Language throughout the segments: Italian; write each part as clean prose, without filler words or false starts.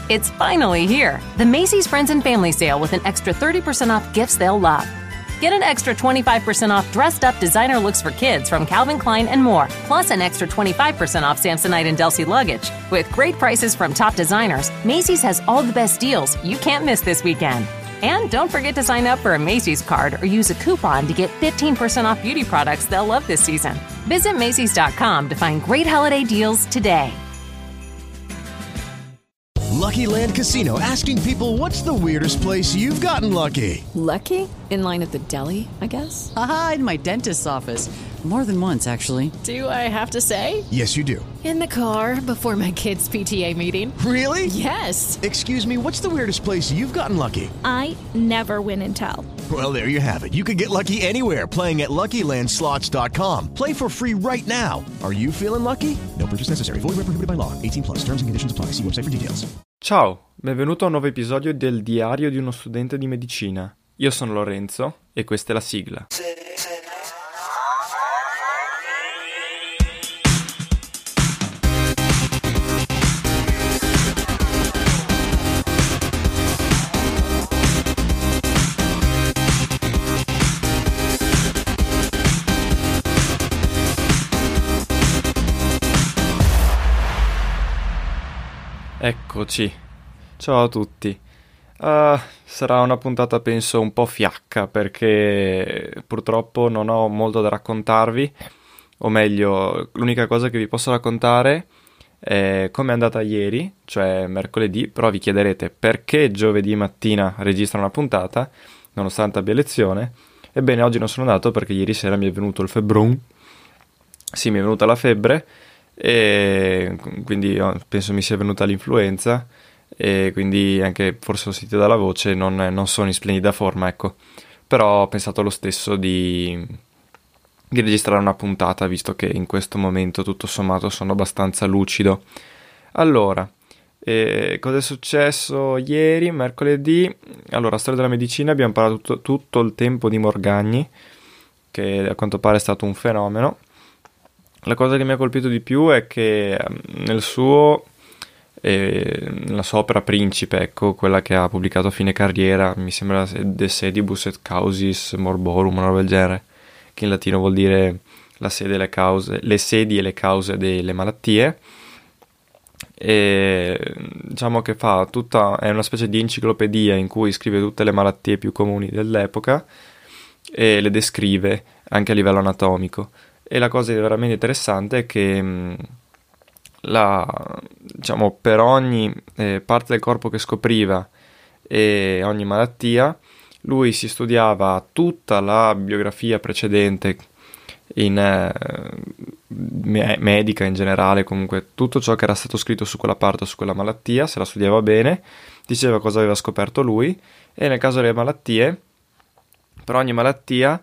It's finally here. The Macy's Friends and Family Sale with an extra 30% off gifts they'll love. Get an extra 25% off dressed-up designer looks for kids from Calvin Klein and more, plus an extra 25% off Samsonite and Delsey luggage. With great prices from top designers, Macy's has all the best deals you can't miss this weekend. And don't forget to sign up for a Macy's card or use a coupon to get 15% off beauty products they'll love this season. Visit Macys.com to find great holiday deals today. Lucky Land Casino, asking people, what's the weirdest place you've gotten lucky? Lucky? In line at the deli, I guess? Aha, in my dentist's office. More than once, actually. Do I have to say? Yes, you do. In the car before my kids' PTA meeting. Really? Yes. Excuse me, what's the weirdest place you've gotten lucky? I never win and tell. Well, there you have it. You can get lucky anywhere, playing at LuckyLandSlots.com. Play for free right now. Are you feeling lucky? No purchase necessary. Void where prohibited by law. 18+. Terms and conditions apply. See website for details. Ciao, benvenuto a un nuovo episodio del Diario di uno studente di medicina. Io sono Lorenzo e questa è la sigla. Eccoci, ciao a tutti. Sarà una puntata penso un po' fiacca perché purtroppo non ho molto da raccontarvi, o meglio, l'unica cosa che vi posso raccontare è come è andata ieri, cioè mercoledì, però vi chiederete perché giovedì mattina registra una puntata, nonostante abbia lezione. Ebbene, oggi non sono andato perché ieri sera mi è venuto il febbrone, sì, mi è venuta la febbre, e quindi penso mi sia venuta l'influenza e quindi anche forse ho sentito dalla voce non sono in splendida forma, ecco, però ho pensato lo stesso di registrare una puntata visto che in questo momento tutto sommato sono abbastanza lucido. Allora, cosa è successo ieri, mercoledì? Allora, storia della medicina, abbiamo parlato tutto il tempo di Morgagni, che a quanto pare è stato un fenomeno. La cosa che mi ha colpito di più è che nella sua opera principe, ecco, quella che ha pubblicato a fine carriera, mi sembra De Sedibus et Causis Morborum, una roba del genere, che in latino vuol dire la sede e le cause, le sedi e le cause delle malattie, e diciamo che è una specie di enciclopedia in cui scrive tutte le malattie più comuni dell'epoca e le descrive anche a livello anatomico. E la cosa veramente interessante è che diciamo, per ogni parte del corpo che scopriva e ogni malattia, lui si studiava tutta la biografia precedente medica in generale, comunque tutto ciò che era stato scritto su quella parte o su quella malattia, se la studiava bene, diceva cosa aveva scoperto lui, e nel caso delle malattie, per ogni malattia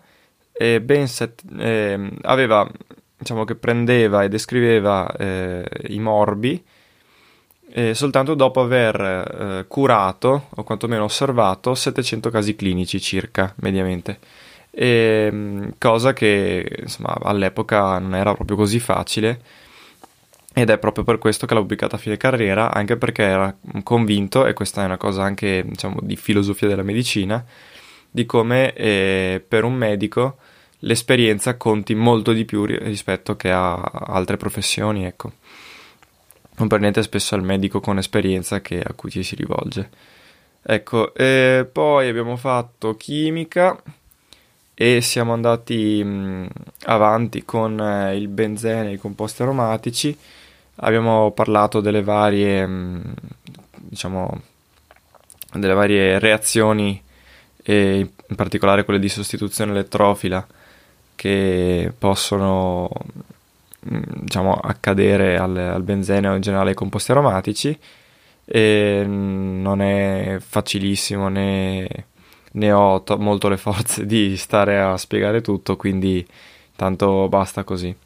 aveva, diciamo, che prendeva e descriveva i morbi soltanto dopo aver curato o quantomeno osservato 700 casi clinici circa mediamente, cosa che insomma all'epoca non era proprio così facile, ed è proprio per questo che l'ha pubblicata a fine carriera, anche perché era convinto, e questa è una cosa anche, diciamo, di filosofia della medicina, di come per un medico l'esperienza conti molto di più rispetto che a altre professioni, ecco. Non per niente spesso è il medico con esperienza a cui ci si rivolge. Ecco, poi abbiamo fatto chimica e siamo andati avanti con il benzene e i composti aromatici. Abbiamo parlato delle varie, diciamo, delle varie reazioni, e in particolare quelle di sostituzione elettrofila che possono, diciamo, accadere al benzene o in generale ai composti aromatici, e non è facilissimo né ho molto le forze di stare a spiegare tutto, quindi tanto basta così.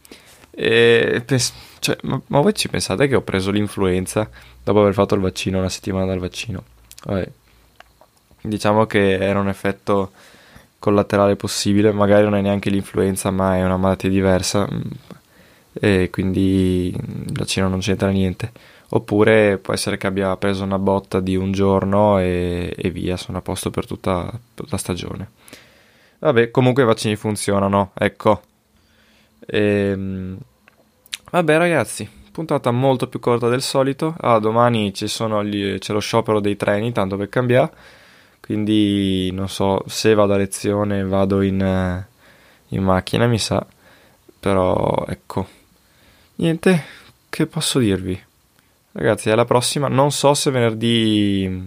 Ma voi ci pensate che ho preso l'influenza dopo aver fatto il vaccino, una settimana dal vaccino? Vabbè. Diciamo che era un effetto collaterale possibile, magari non è neanche l'influenza ma è una malattia diversa, e quindi il vaccino non c'entra niente, oppure può essere che abbia preso una botta di un giorno e via, sono a posto per tutta la stagione. Vabbè, comunque i vaccini funzionano, ecco. Vabbè ragazzi, puntata molto più corta del solito. Domani c'è lo sciopero dei treni, tanto per cambiare, quindi non so se vado a lezione, vado in macchina, mi sa, però ecco, niente, che posso dirvi ragazzi, alla prossima. Non so se venerdì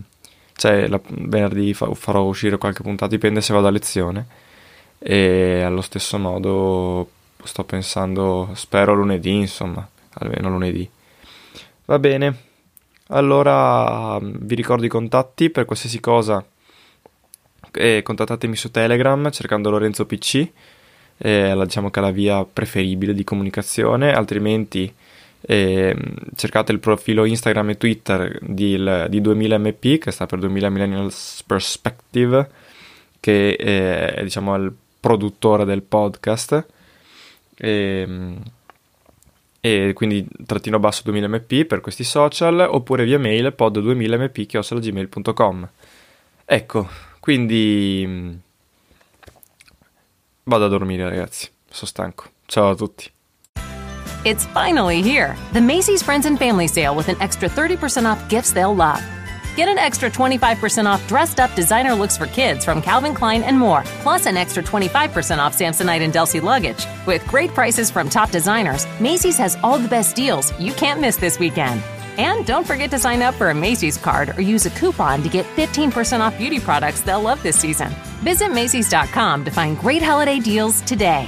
farò uscire qualche puntata, dipende se vado a lezione, e allo stesso modo sto pensando, spero lunedì, insomma, almeno lunedì. Va bene, allora vi ricordo i contatti per qualsiasi cosa, contattatemi su Telegram cercando Lorenzo PC, diciamo che è la via preferibile di comunicazione, altrimenti cercate il profilo Instagram e Twitter di 2000MP, che sta per 2000 Millennials Perspective, che è diciamo il produttore del podcast, e quindi _ 2000mp per questi social, oppure via mail pod2000mp@gmail.com. ecco, quindi vado a dormire ragazzi, sono stanco, ciao a tutti. It's finally here, the Macy's Friends and Family Sale with an extra 30% off gifts they'll love. Get an extra 25% off dressed-up designer looks for kids from Calvin Klein and more, plus an extra 25% off Samsonite and Delsey luggage. With great prices from top designers, Macy's has all the best deals you can't miss this weekend. And don't forget to sign up for a Macy's card or use a coupon to get 15% off beauty products they'll love this season. Visit Macys.com to find great holiday deals today.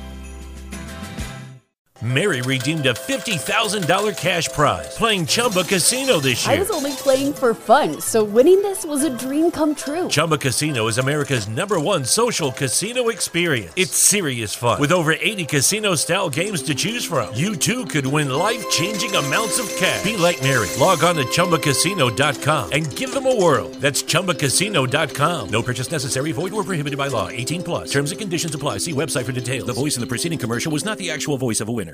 Mary redeemed a $50,000 cash prize playing Chumba Casino this year. I was only playing for fun, so winning this was a dream come true. Chumba Casino is America's #1 social casino experience. It's serious fun. With over 80 casino-style games to choose from, you too could win life-changing amounts of cash. Be like Mary. Log on to ChumbaCasino.com and give them a whirl. That's ChumbaCasino.com. No purchase necessary. Void where prohibited by law. 18+. Terms and conditions apply. See website for details. The voice in the preceding commercial was not the actual voice of a winner.